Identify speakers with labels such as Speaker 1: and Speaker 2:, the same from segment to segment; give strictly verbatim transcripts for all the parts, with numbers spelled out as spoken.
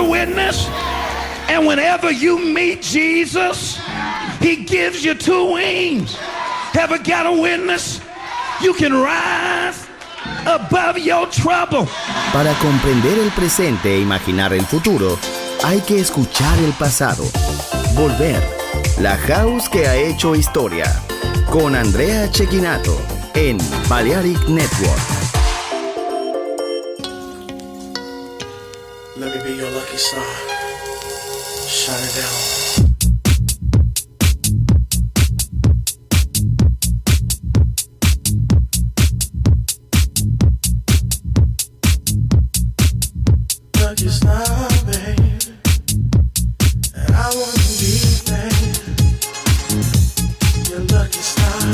Speaker 1: witness? And whenever you meet Jesus, he gives you two wings. Ever got a witness? You can rise above your trouble.
Speaker 2: Para comprender el presente e imaginar el futuro, hay que escuchar el pasado. Volver. La house que ha hecho historia. Con Andrea Cecchinato en Balearic Network.
Speaker 3: Let me be your lucky star. Shine it down. Lucky star, babe. And I want to be, babe, your lucky star.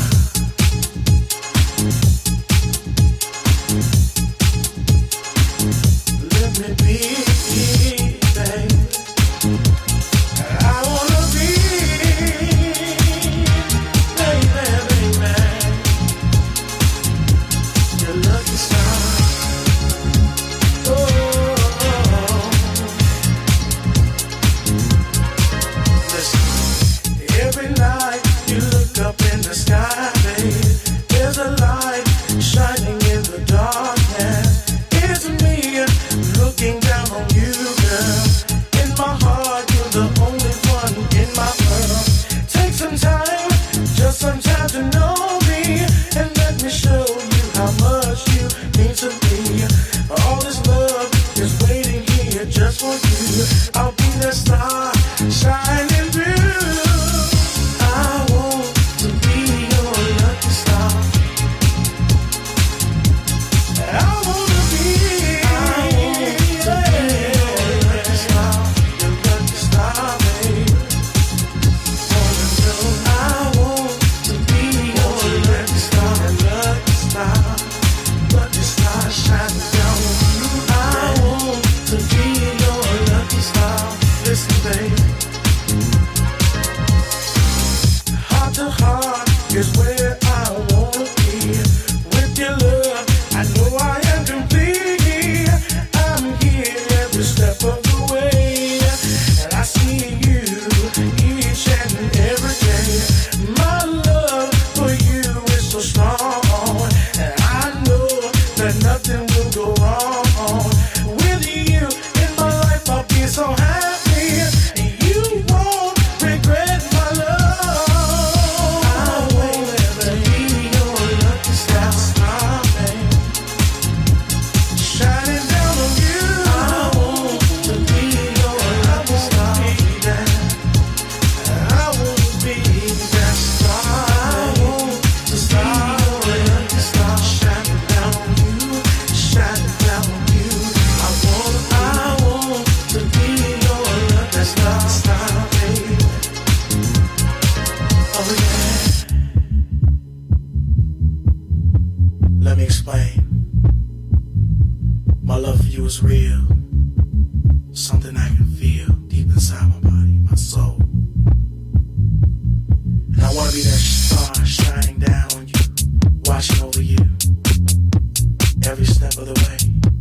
Speaker 3: Let me be, babe. I wanna be, baby, baby, your lucky star. Oh, listen. Every night you look up in the sky, babe, there's a light shining in the darkness. It's me looking down on you, girl. In my heart, you're the only one in my world. Take some time, just some time to know me, and let me show you how much you mean to me. All this love is waiting here just for you. I'll be the star shining through. I want to be your lucky star. I wanna be, I want to be your lucky star, your lucky star, babe. Wanna know, I want to be your lucky star, lucky star, lucky star shining down on you. I want to be your lucky star. Listen, babe. Heart to heart is where I wanna be. With your love, I know I am complete. I'm here every step of the way, and I see you each and every day. My love for you is so strong, and I know that nothing will go wrong. With you in my life, I'll be so happy. You won't regret my love. I want to be your lucky star, babe, shining down on you. I want to be your lucky star, baby. I want to be that star. I want to be your lucky star, shining down on you, shining down on you. I want, I want to be your lucky star, star, baby. Oh yeah. Let me explain. My love for you is real. Something I can feel deep inside my body, my soul. And I want to be that star shining down on you, watching over you every step of the way.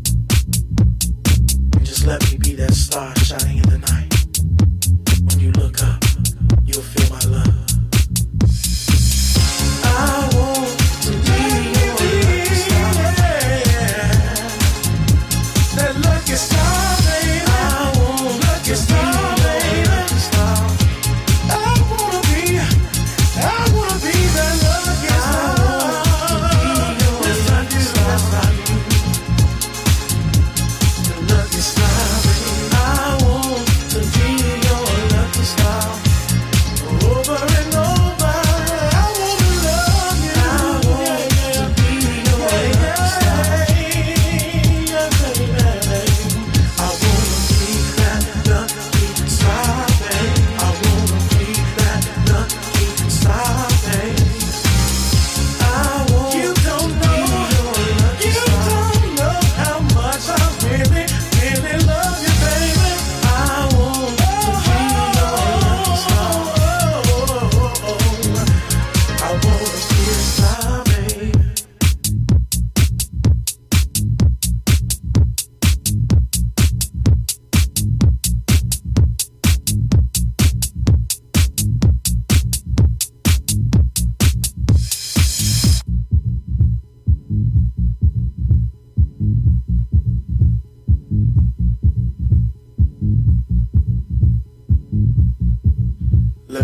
Speaker 3: And just let me be that star shining in the night. When you look up, you'll feel my love. I want to be your lucky star, that lucky star, baby. I want lucky star, baby. I wanna be, I wanna be that lucky star. Yes, I do, yes, I do. The lucky star, baby. I want to be your lucky star. Oh,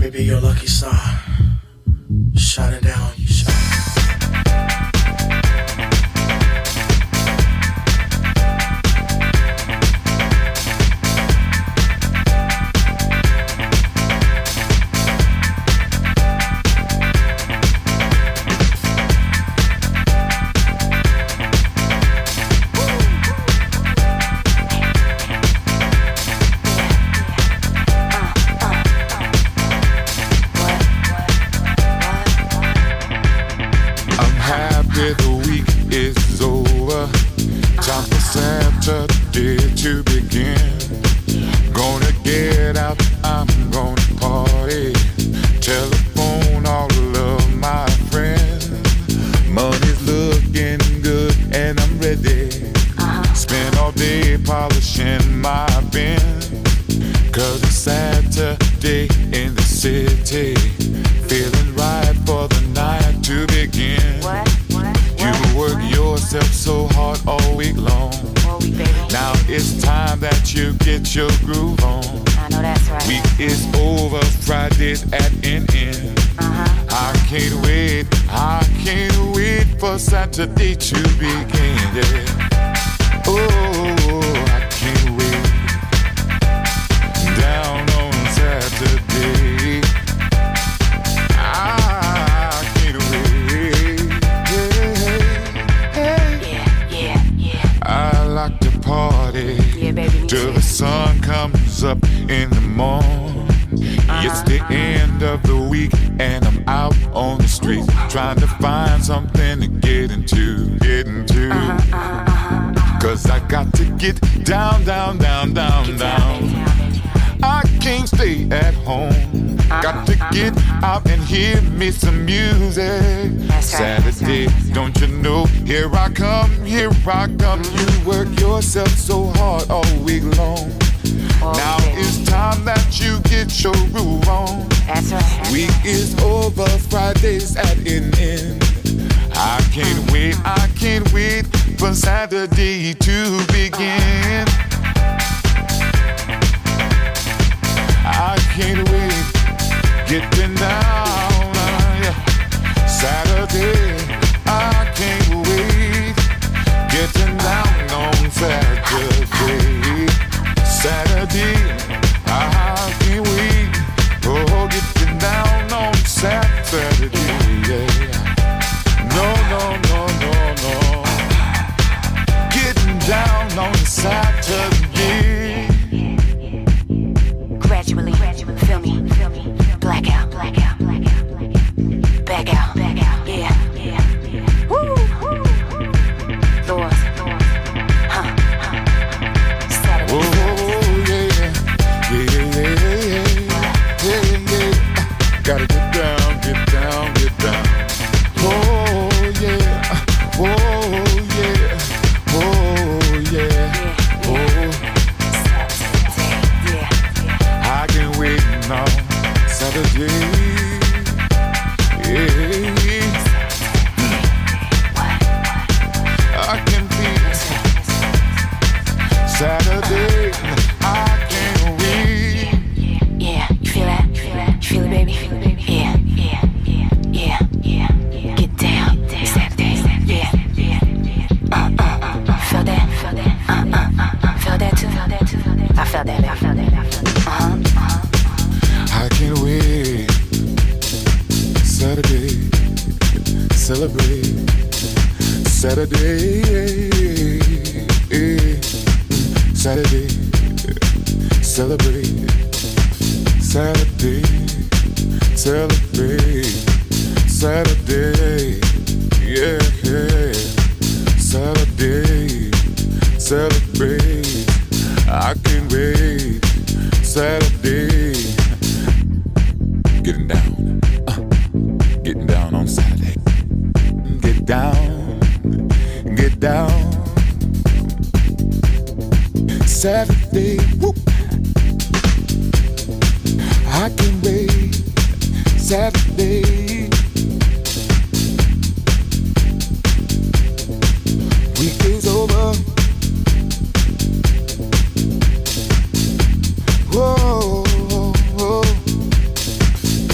Speaker 3: me be your lucky star. Shining down, you shine.
Speaker 4: Saturday to begin. Gonna get out, I'm gonna party. Telephone all of my friends. Money's looking good and I'm ready. Uh-huh. Spend all day polishing my bin. Cause it's Saturday in the city. Feeling right for the night to begin. What? What? You work yourself so hard all week long. Now it's time that you get your groove on.
Speaker 5: I know that's right.
Speaker 4: Week is over, Friday's at an end. Uh-huh. I can't wait, I can't wait for Saturday to begin. Yeah. Oh, I can't wait. Down on Saturday. I can't wait. Yeah,
Speaker 5: yeah, yeah, yeah.
Speaker 4: I like to party.
Speaker 5: Yeah, baby, me
Speaker 4: till
Speaker 5: too.
Speaker 4: the sun comes up in the morning. Uh-huh, it's the
Speaker 5: uh-huh.
Speaker 4: end of the week and I'm out on the street trying to find something to get into, get into.
Speaker 5: Uh-huh, uh-huh, uh-huh.
Speaker 4: Cause I got to get down, down, down, down,
Speaker 5: Get
Speaker 4: down.
Speaker 5: down, down, down.
Speaker 4: I can't stay at home.
Speaker 5: Uh-huh,
Speaker 4: Got to
Speaker 5: uh-huh.
Speaker 4: get out and hear me some music.
Speaker 5: That's right,
Speaker 4: Saturday,
Speaker 5: that's right.
Speaker 4: don't you know? Here I come, here I come. You work yourself so hard all week long.
Speaker 5: Oh,
Speaker 4: Now
Speaker 5: baby.
Speaker 4: it's time that you get your groove on.
Speaker 5: That's right. That's
Speaker 4: Week
Speaker 5: right.
Speaker 4: is over, Friday's at an end. I can't wait, I can't wait for Saturday to begin. I can't wait, getting down, uh, yeah. Saturday, I can't wait, getting down on Saturday. Saturday, I can't wait, oh, getting down on Saturday, yeah. No, no, no, no, no, getting down on Saturday.
Speaker 5: Gradually, gradually, feel me, feel me, black out, black out, black out, black out, back out, back out, yeah, yeah, yeah. Woo, woo. Lord, Lord, huh, huh. Saturday,
Speaker 4: Oh, yeah, yeah, yeah, yeah, yeah, yeah. Gotta get down, get down, get down. Oh, yeah, oh, yeah, oh, yeah, oh.
Speaker 5: Saturday, yeah, yeah.
Speaker 4: I can wait now, Saturday. Yeah, I can feel Saturday. I can't wait.
Speaker 5: Yeah, you feel that? You feel that? You feel it, baby? Feel it, baby? Yeah, yeah, yeah, yeah, yeah, yeah. Get down, Saturday, yeah, yeah, yeah. Uh, uh, uh, uh. Feel that? Feel that? Uh, uh, uh, uh. Feel that too? Feel that too? I felt that, I felt that, I felt that. Uh-huh, uh-huh.
Speaker 4: I can't wait. Saturday, celebrate. Saturday, Saturday, celebrate. Saturday, celebrate. Saturday, yeah, yeah. Saturday, celebrate. I can't wait. Saturday, getting down, uh, getting down on Saturday. Get down, get down. Saturday, whoop. I can wait. Saturday. Week is over. Whoa, whoa.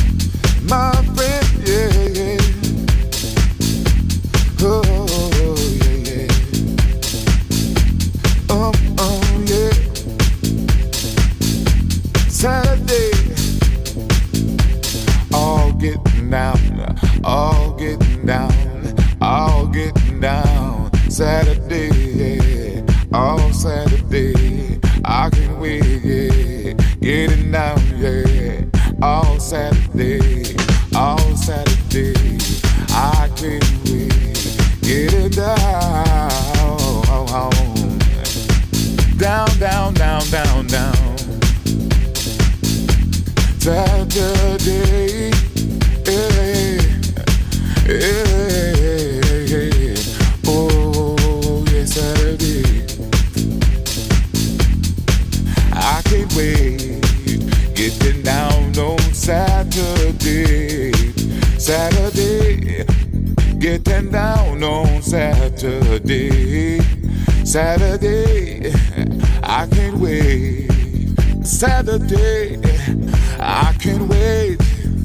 Speaker 4: can't wait. Getting down on Saturday, Saturday. Getting down on Saturday, Saturday. I can't wait. Saturday, I can't wait.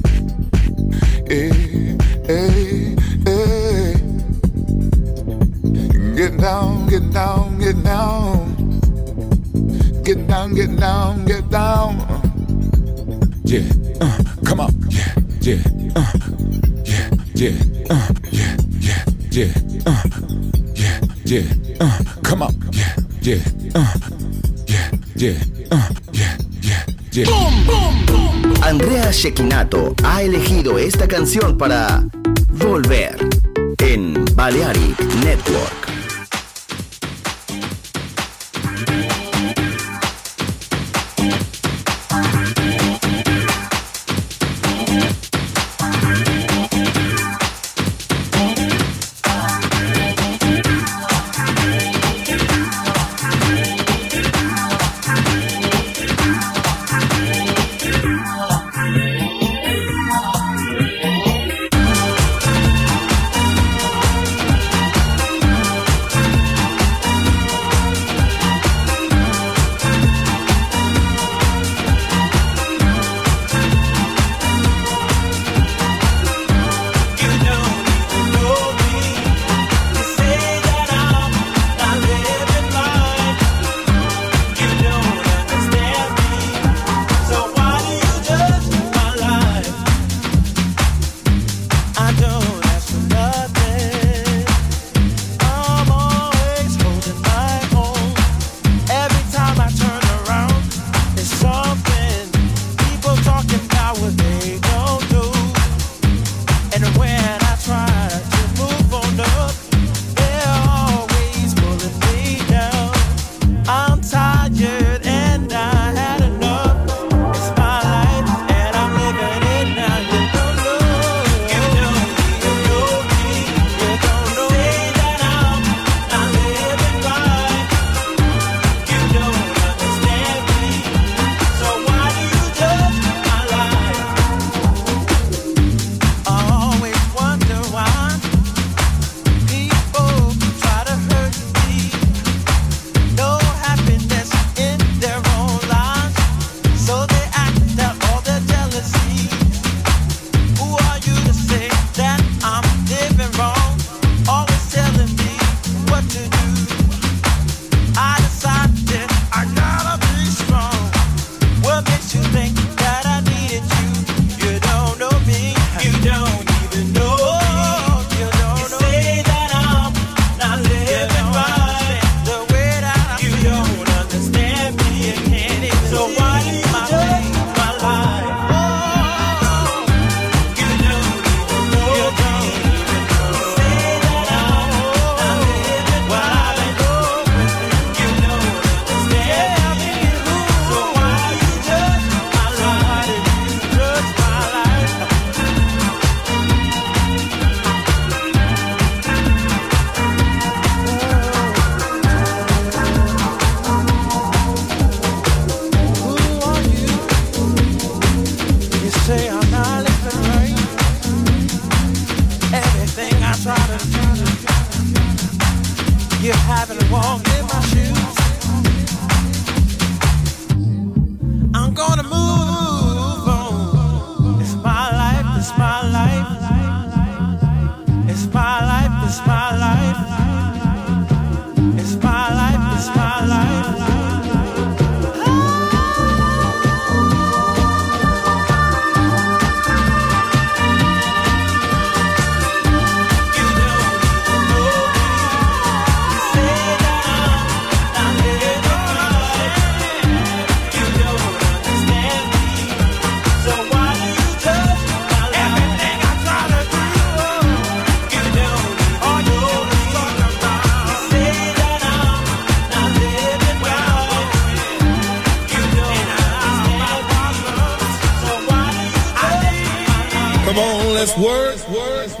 Speaker 4: Hey, hey, hey. Get down, get down, get down. Get down, get down, get down. Yeah, uh, come on, yeah, yeah, uh, yeah, yeah, uh, yeah, yeah, yeah, uh, yeah, yeah, uh, come on, yeah, yeah, uh, yeah, yeah, uh, yeah, yeah, yeah.
Speaker 2: Boom, boom, boom. Andrea Cecchinato ha elegido esta canción para Volver en Balearic Network.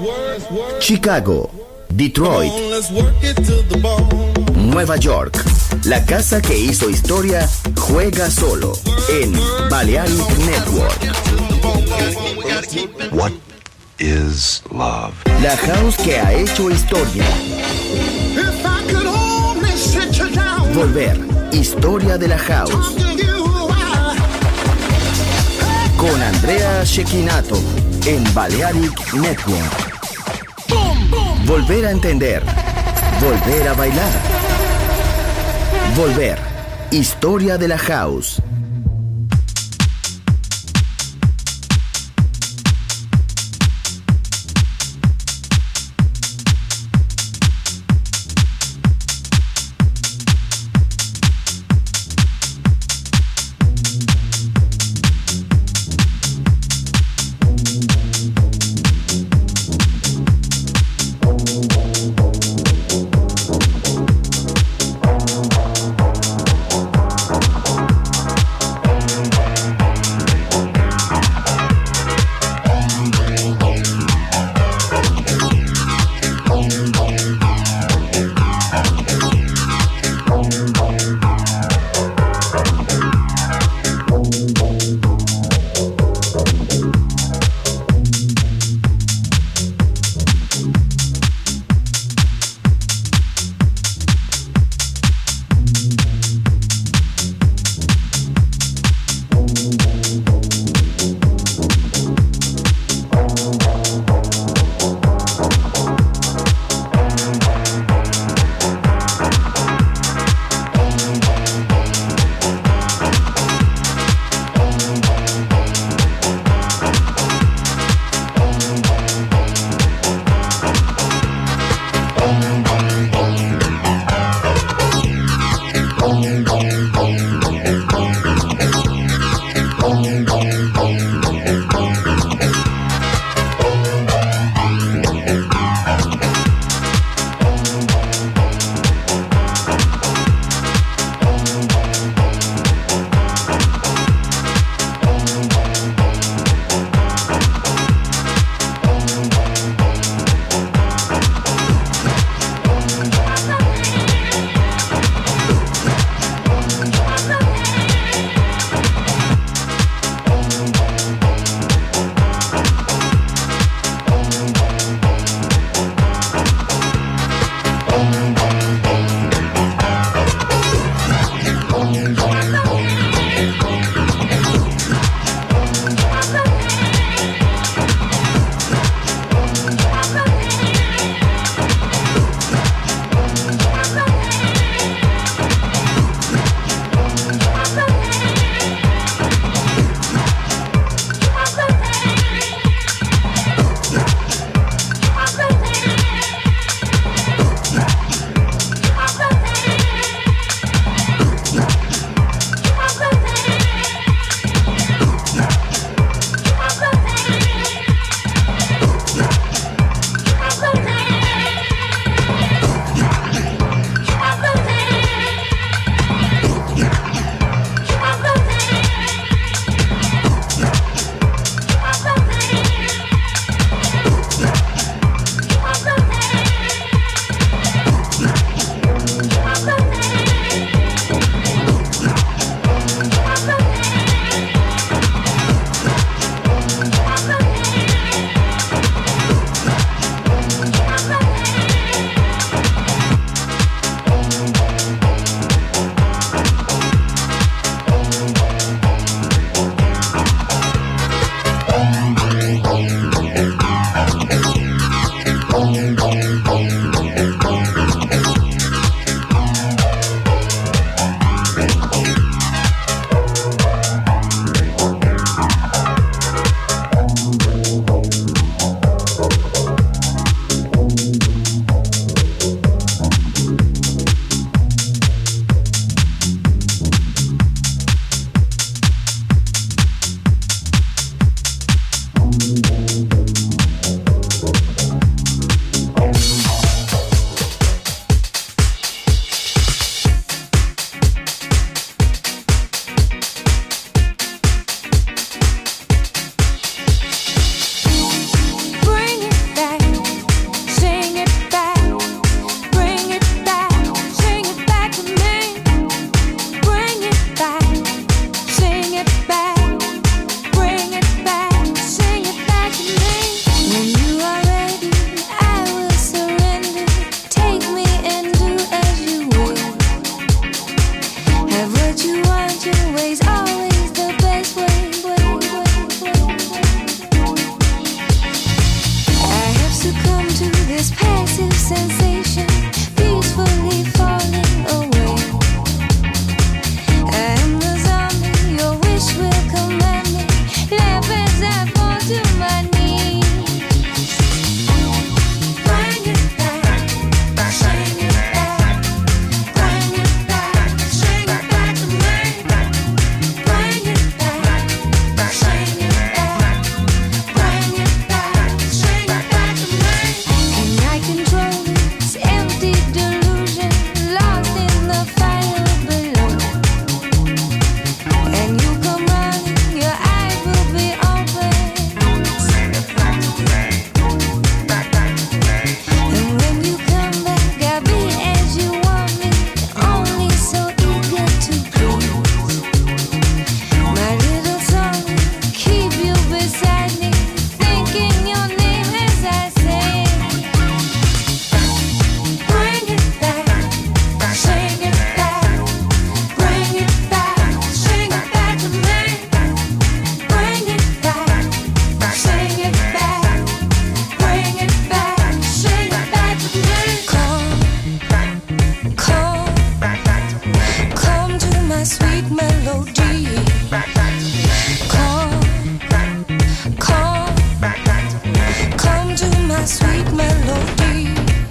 Speaker 2: Chicago, Detroit, Nueva York, La casa que hizo historia juega solo en Balearic Network.
Speaker 6: What is love?
Speaker 2: La house que ha hecho historia. Volver, historia de la house. Con Andrea Cecchinato en Balearic Network. Volver a entender. Volver a bailar. Volver, historia de la house.
Speaker 7: always the best way. I have succumbed to this passive sensation, peacefully falling away. I am the zombie, your wish will command me. Laugh as I fall to my knees. Bring it back, bring it back, bring it back, bring it back to me. Bring it back, bring it back, bring it back, bring it back to me. Can I control this empty delusion, lost in the fire below? And you come running, your eyes will be open. And when you come back, I'll be as you want me, only so eager to please. My little song, keep you beside me, thinking your name as I sing. Bring it back, sing it back, bring it back, sing it back to me. Bring it back, sing it back, bring it back, sing it back to me. Come, come, come to my sweet melody. Come, come, come to my sweet melody.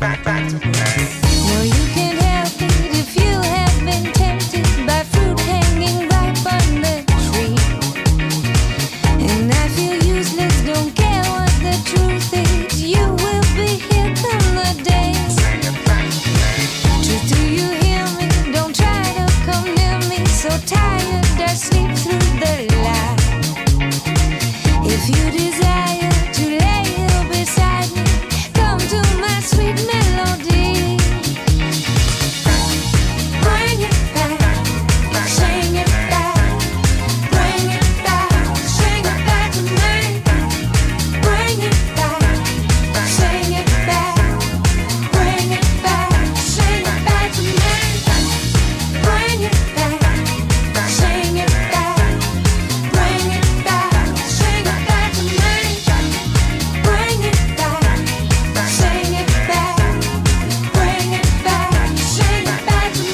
Speaker 7: No, you can't help it if you have been tempted by fruit hanging ripe on the tree. And I feel useless, don't care what the truth is. You will be here come the day. Truth, do you hear me? Don't try to come near me. So tired, I sleep through the light. If you desire to lay here beside me, come to my sweet melody. Bring it back, sing it back, bring it back, sing it back to me. Bring it back, sing it back, bring it back, sing it back to me. Bring it back, sing it back, bring it back, sing it back to me. Bring it back, sing it back, bring it back, sing it back to me.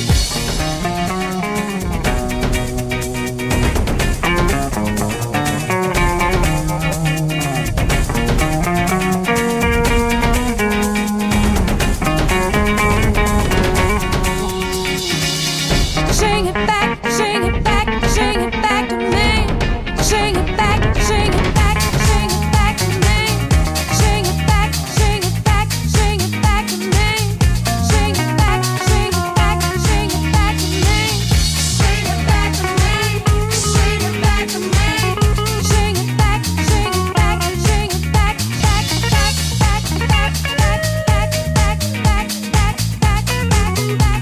Speaker 7: Sing it back, sing it back, sing it back to me. Sing it back, sing it back, sing it back to me. Sing it back, sing it back, sing it back to me. Sing it back, sing it back, sing it back to me. Sing it back to me, sing it back to me. Sing it back, sing it back, sing it back, back, back, back, back, back, back, back, back, back, back, back, back, back.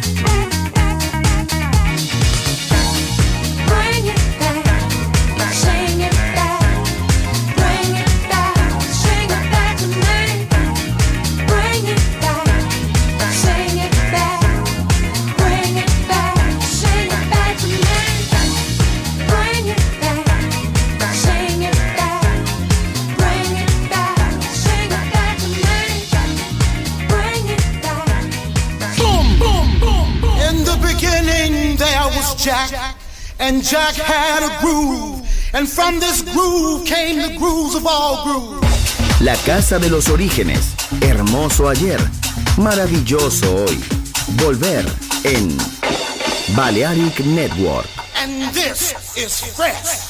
Speaker 7: Bring it back, sing it back, bring it back, sing it back to me. Bring it back, sing it back, bring it back, sing it back to me. Bring it back, sing it back, bring it back, sing it back to me. Bring it back.
Speaker 3: Boom, boom, boom, boom. In the beginning there was Jack, and Jack had a groove, and from this groove came the grooves of all grooves.
Speaker 2: La casa de los orígenes. Hermoso ayer, maravilloso hoy. Volver en Balearic Network.
Speaker 3: And this is fresh.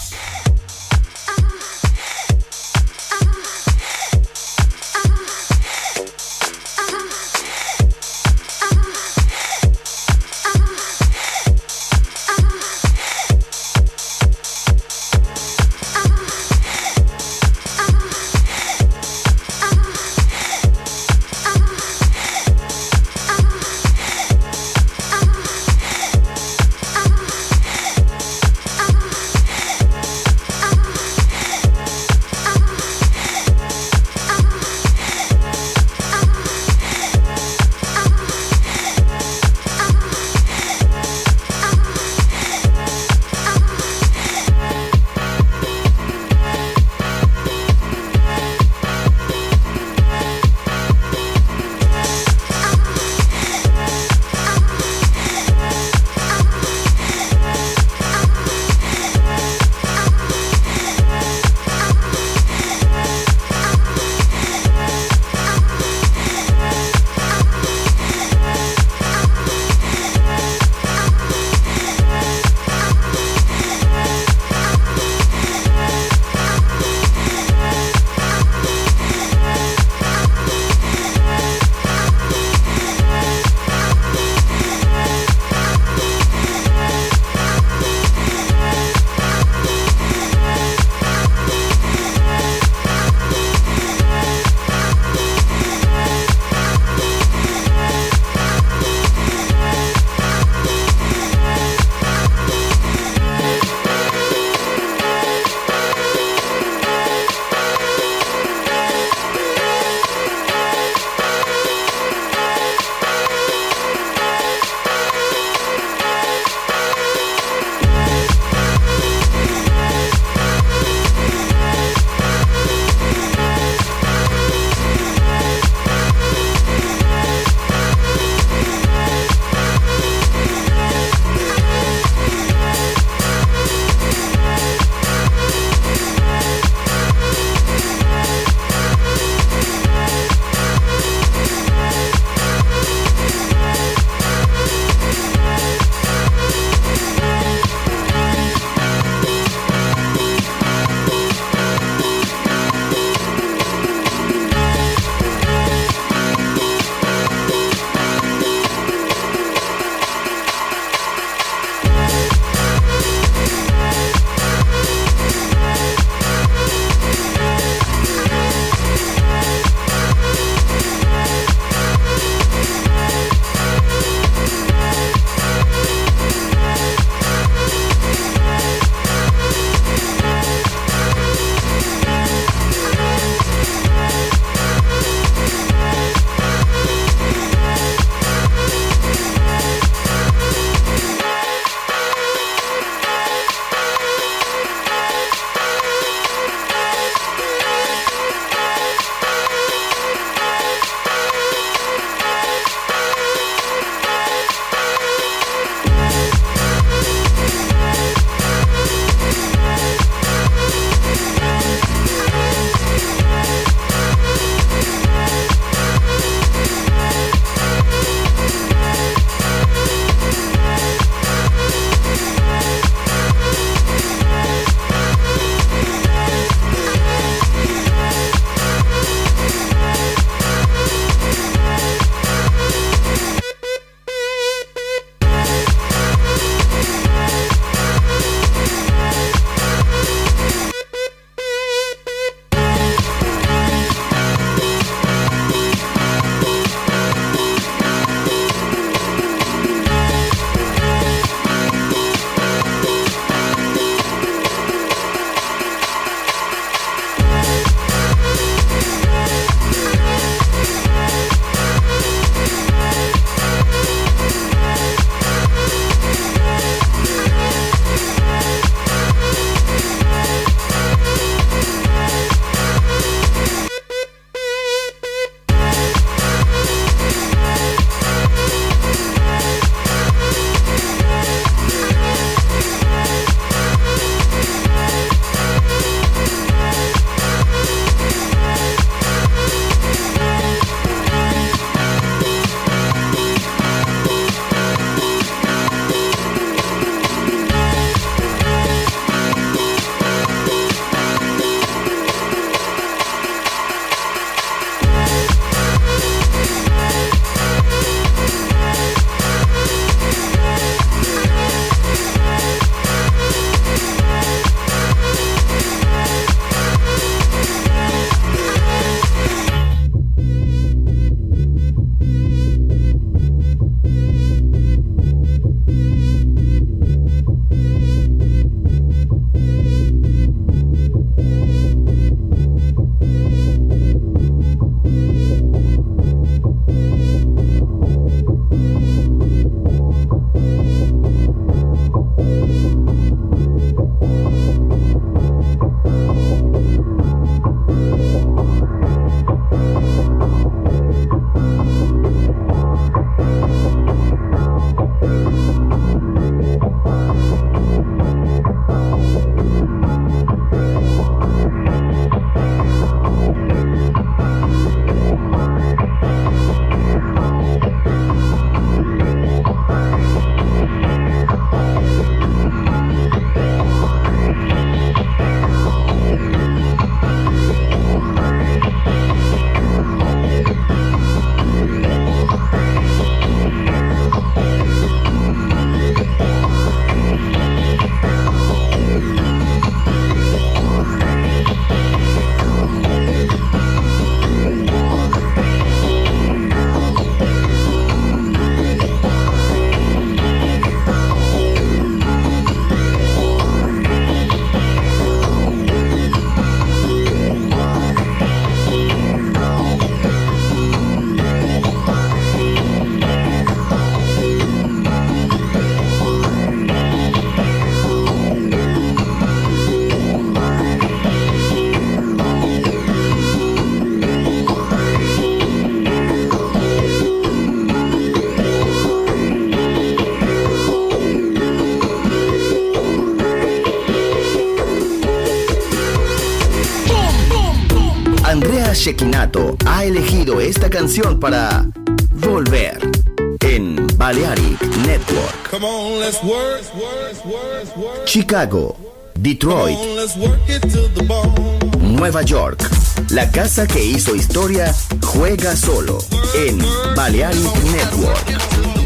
Speaker 2: Shekinato ha elegido esta canción para volver en Balearic Network.
Speaker 3: Come on, let's work. work.
Speaker 2: Chicago, Detroit,
Speaker 3: Come on, let's work it to the bone.
Speaker 2: Nueva York. La casa que hizo historia juega solo en Balearic Network.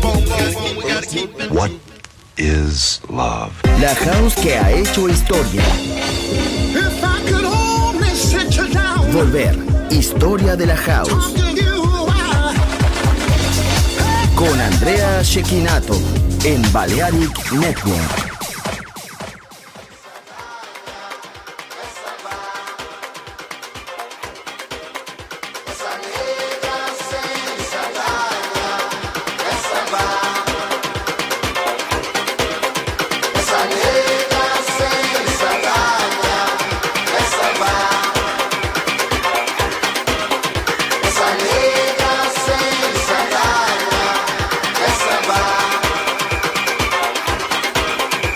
Speaker 6: What is love?
Speaker 2: La house que ha hecho historia.
Speaker 3: If I could only sit you down,
Speaker 2: Volver, historia de la house.
Speaker 3: talk to you, I-
Speaker 2: Con Andrea Shekinato en Balearic Network.
Speaker 3: Esa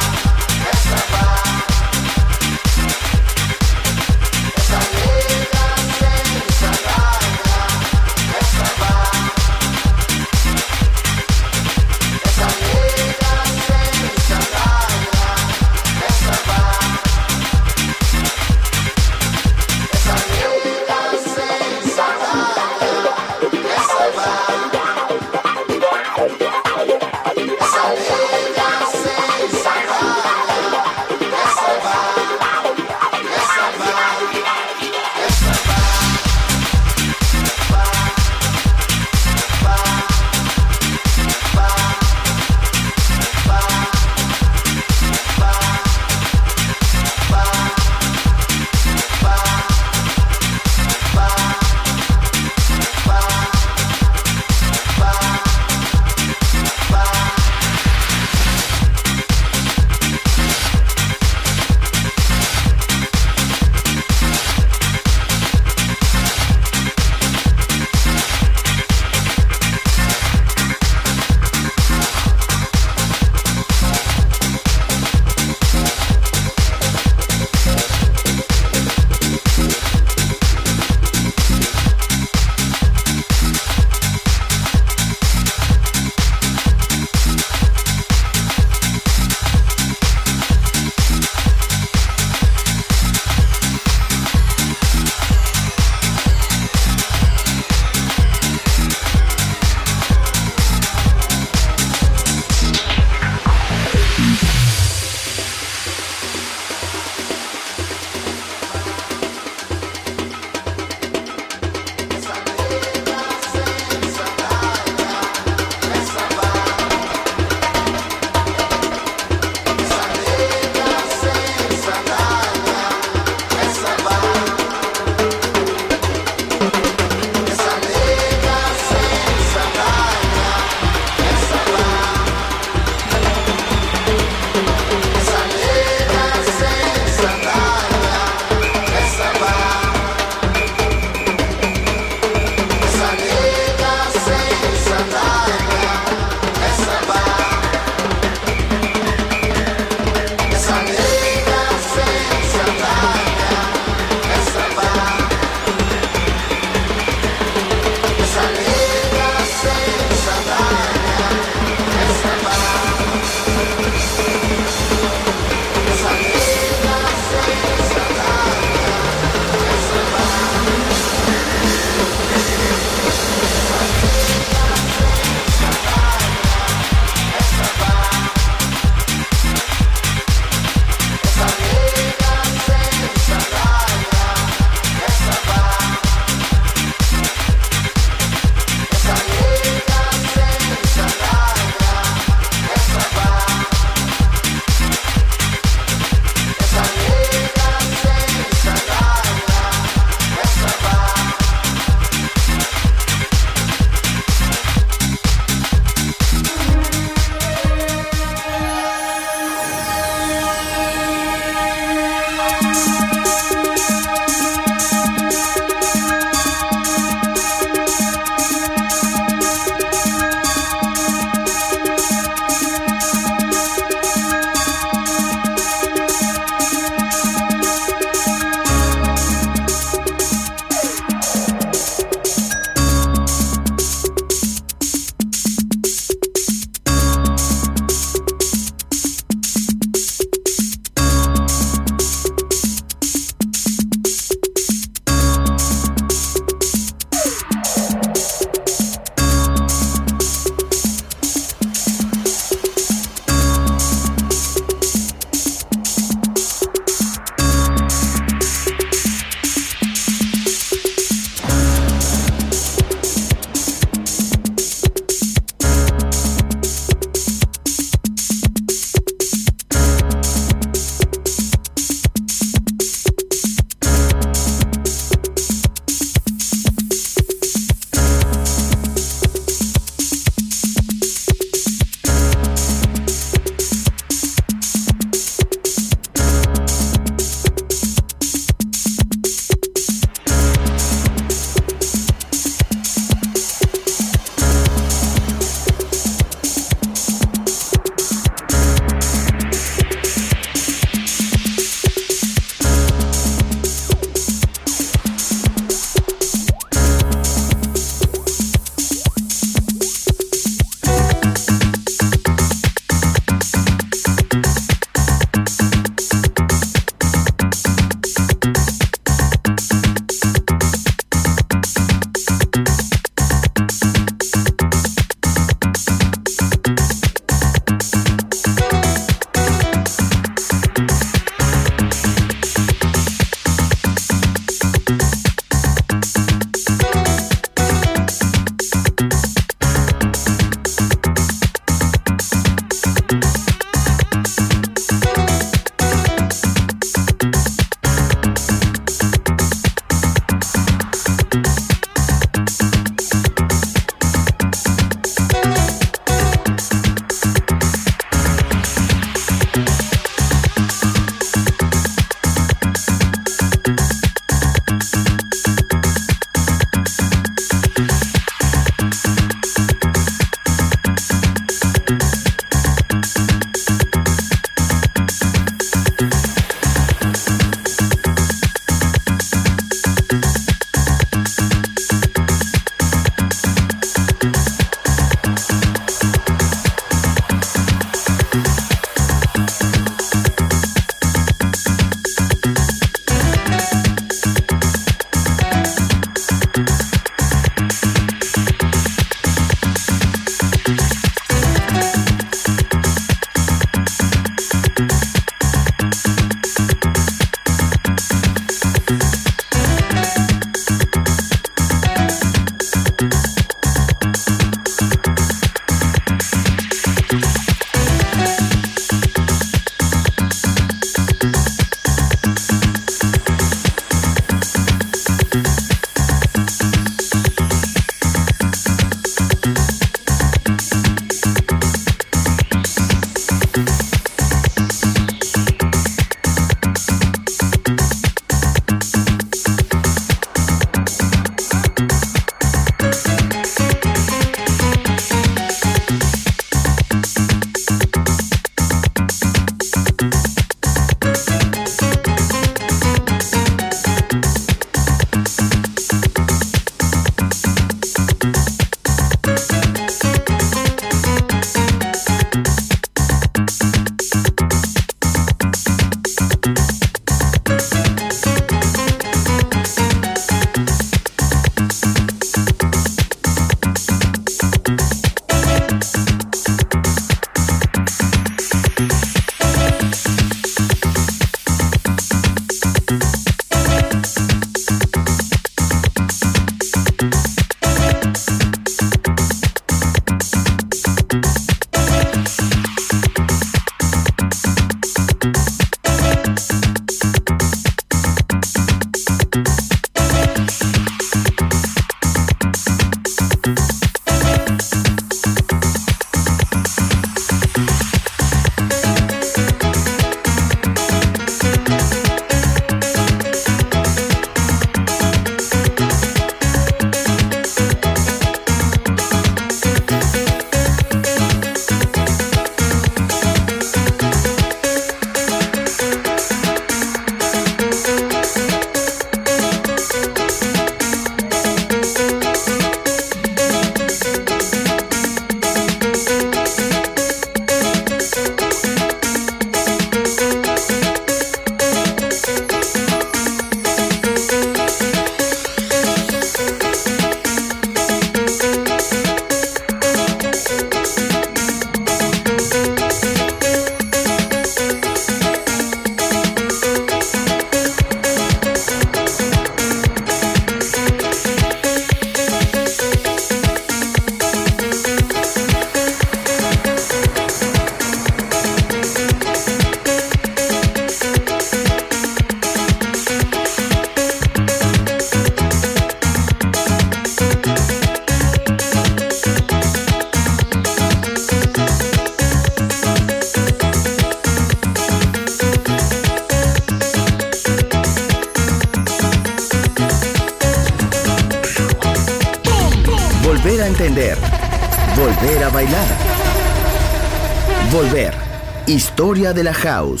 Speaker 2: volver a entender, volver a bailar. Volver. Historia de la house.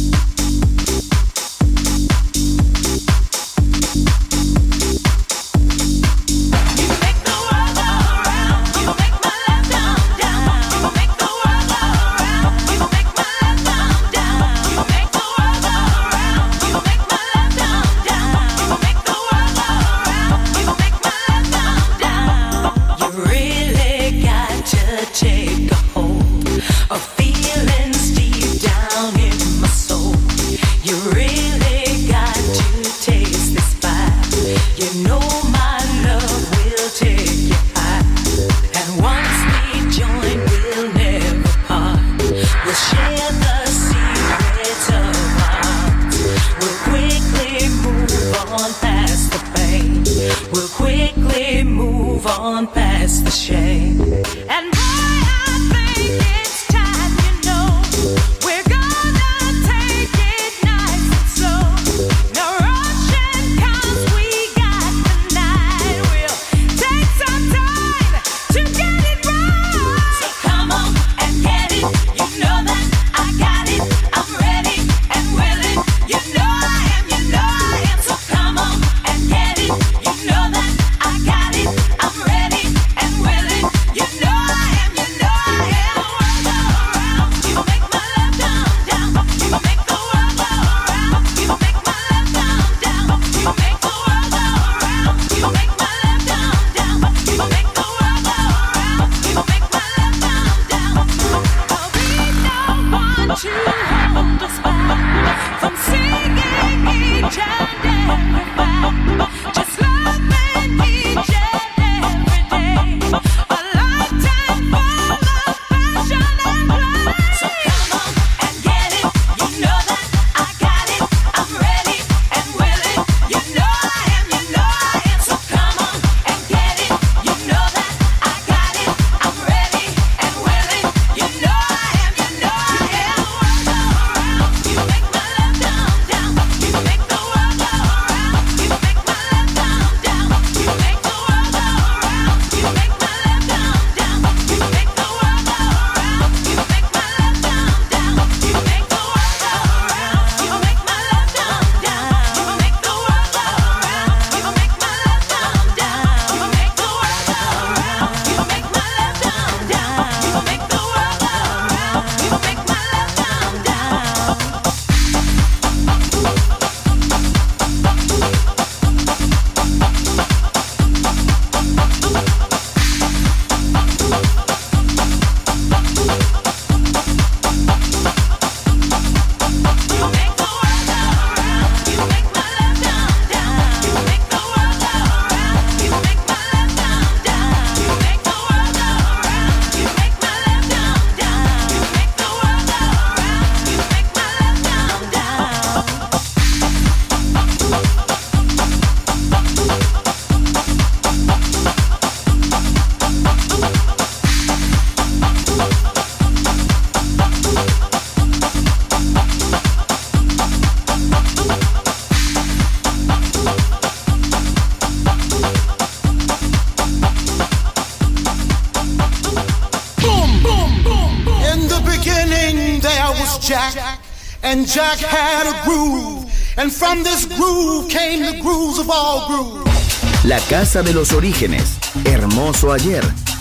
Speaker 3: And Jack had a groove, and from this groove came the grooves of all grooves.
Speaker 2: La casa de los orígenes, hermoso ayer,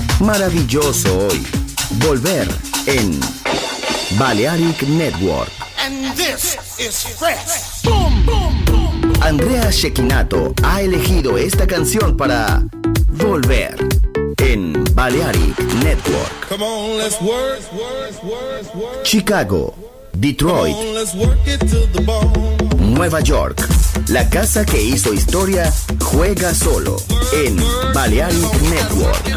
Speaker 2: maravilloso hoy. Volver en Balearic Network.
Speaker 3: And this is fresh. Boom, boom, boom.
Speaker 2: Andrea Cecchinato ha elegido esta canción para Volver en Balearic Network.
Speaker 3: Come on, let's work.
Speaker 2: Chicago, Detroit,
Speaker 3: Come on, let's work it to the bone.
Speaker 2: Nueva York. La casa que hizo historia juega solo en Balearic Network.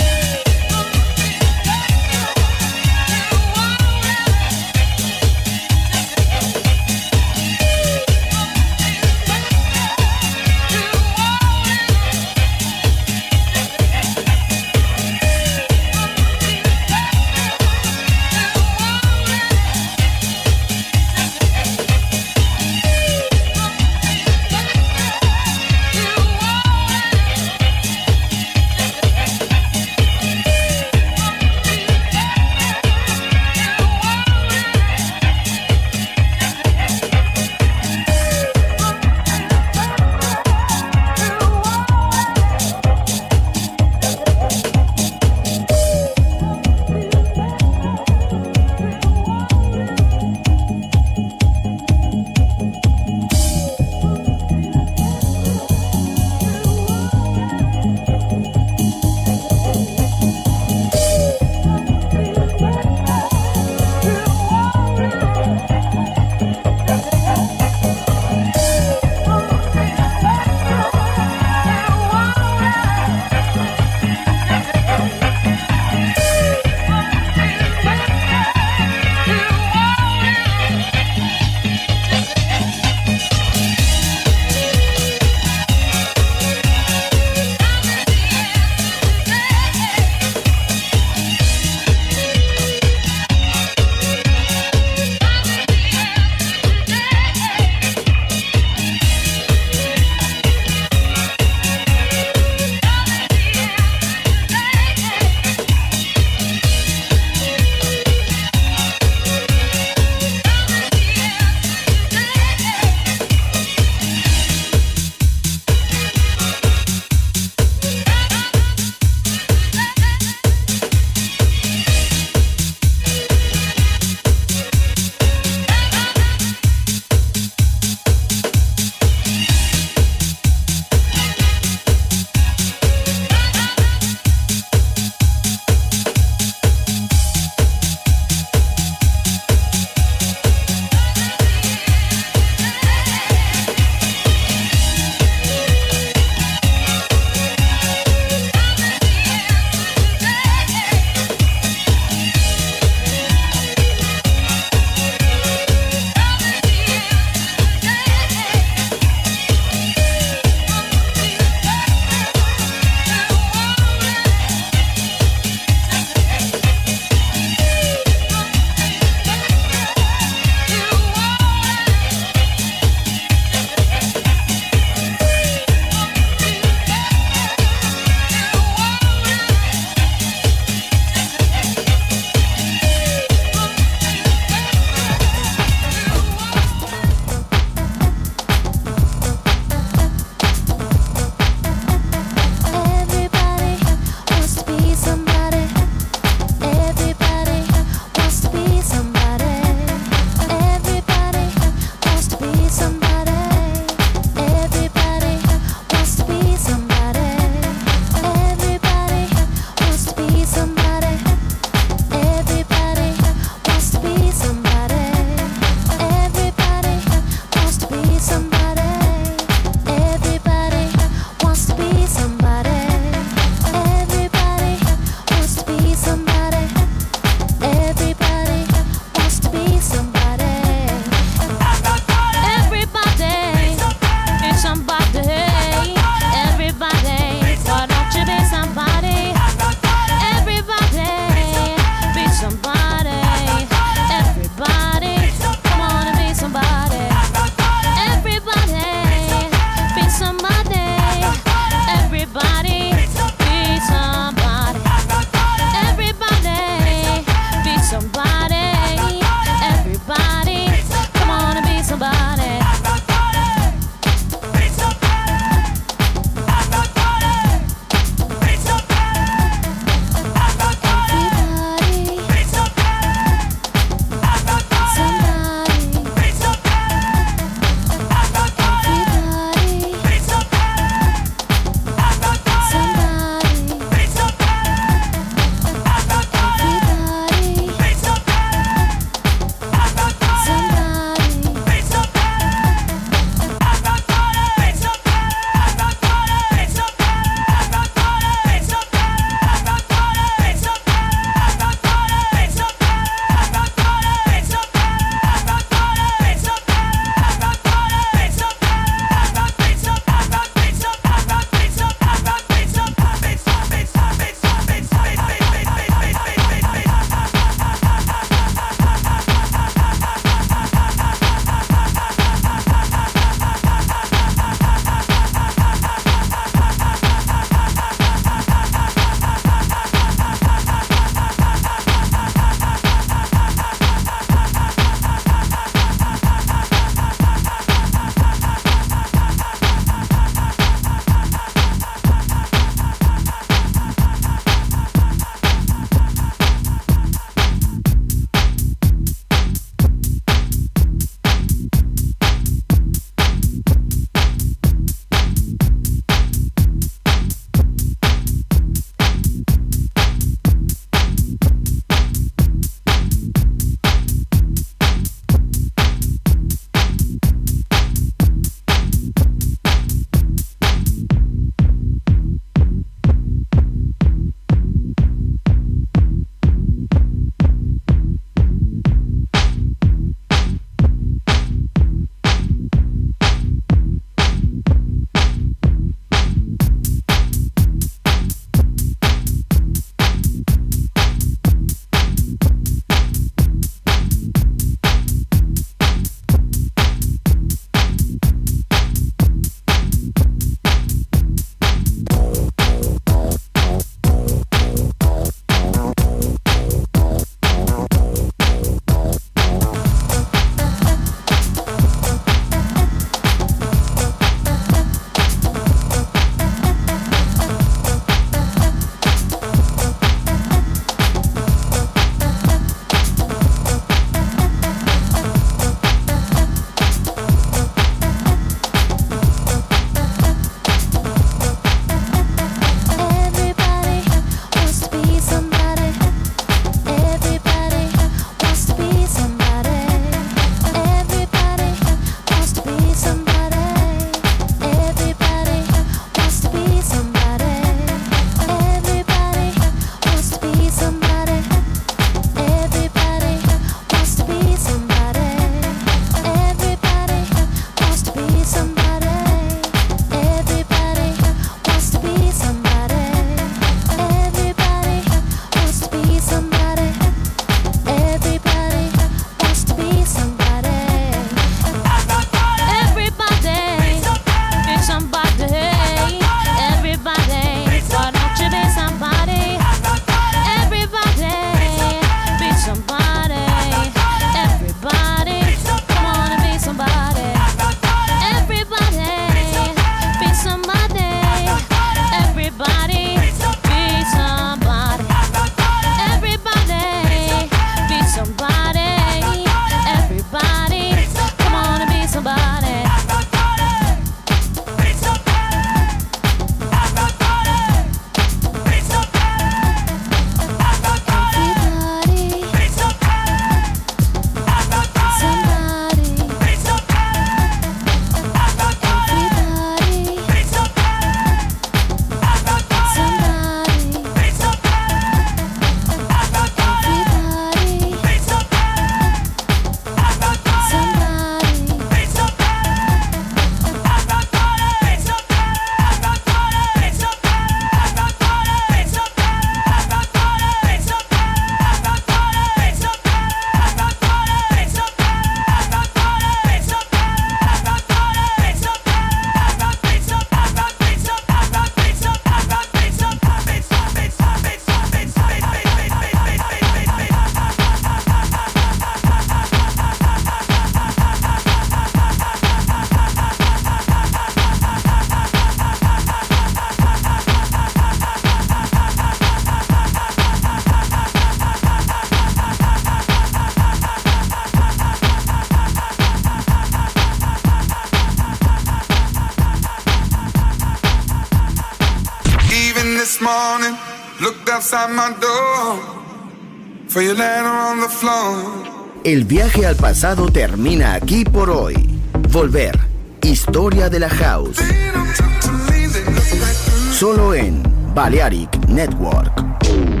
Speaker 4: this morning, looked outside my door for your letter on the floor.
Speaker 2: El viaje al pasado termina aquí por hoy. Volver. Historia de la House. Solo en Balearic Network.